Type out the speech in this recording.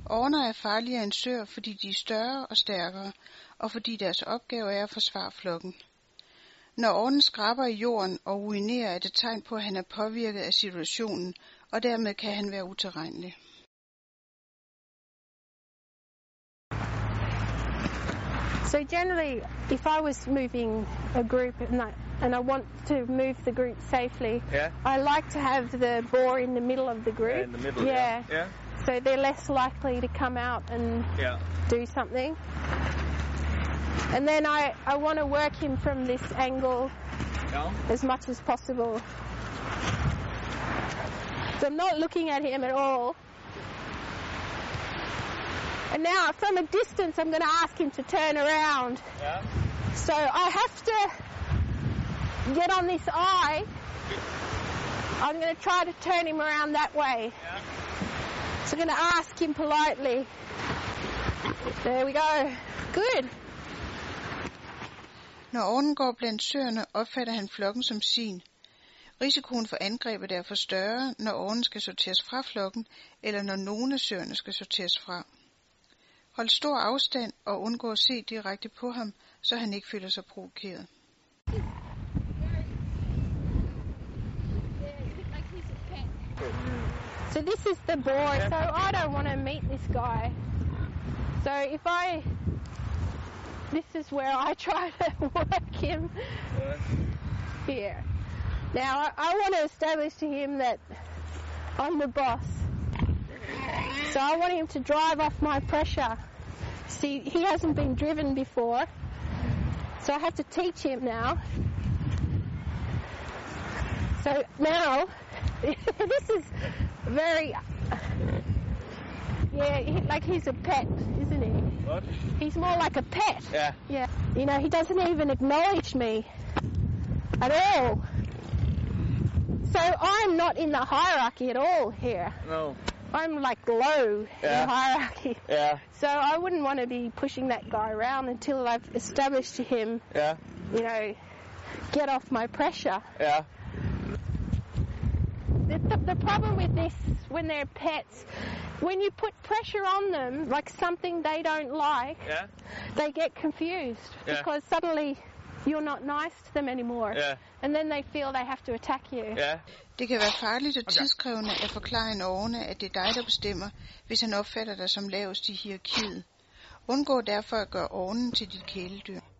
Orner er farligere end søer, fordi de er større og stærkere, og fordi deres opgave er at forsvare flokken. Når ornen skraber i jorden og urinerer, er det tegn på, at han er påvirket af situationen, og dermed kan han være utilregnelig. So generally, if I was moving a group and I want to move the group safely, I like to have the boar in the middle of the group. Yeah, in the middle, yeah. So they're less likely to come out and do something. And then I want to work him from this angle as much as possible. So I'm not looking at him at all. And now, from a distance, I'm going to ask him to turn around. Yeah. So I have to get on this eye. I'm going to try to turn him around that way. Yeah. So I'm going to ask him politely. There we go. Good. Når ornen går blandt søerne, opfatter han flokken som sin. Risikoen for angreb er derfor større, når ornen skal sorteres fra flokken, eller når nogle af søerne skal sorteres fra. Hold stor afstand og undgå at se direkte på ham, så han ikke føler sig provokeret. So this is the boar, so I don't want to meet this guy. So this is where I try to work him here. Now I want to establish to him that I'm the boss. So I want him to drive off my pressure. See, he hasn't been driven before, so I have to teach him now. So now, this is very, like he's a pet, isn't he? What? He's more like a pet. Yeah. Yeah. You know, he doesn't even acknowledge me at all. So I'm not in the hierarchy at all here. No. I'm like low in the hierarchy. Yeah. So I wouldn't want to be pushing that guy around until I've established to him, you know, get off my pressure. Yeah. The problem with this, when they're pets, when you put pressure on them, like something they don't like, they get confused because suddenly you're not nice to them anymore. And then they feel they have to attack you. Det kan være farligt og tidskrævende at forklare en orne, at det er dig, der bestemmer, hvis han opfatter dig som lavest i hierarkiet. Undgå derfor at gøre ornen til dit kæledyr.